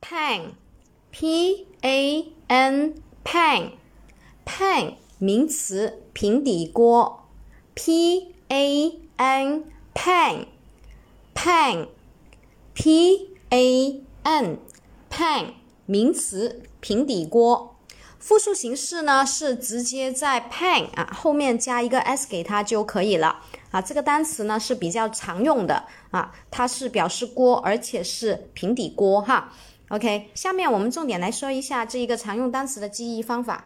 pan P-A-N pan pan 名词，平底锅 P-A-N pan pan P-A-N pan 名词，平底锅。复数形式呢是直接在 pan 后面加一个 s 给它就可以了这个单词呢是比较常用的它是表示锅，而且是平底锅OK， 下面我们重点来说一下这一个常用单词的记忆方法。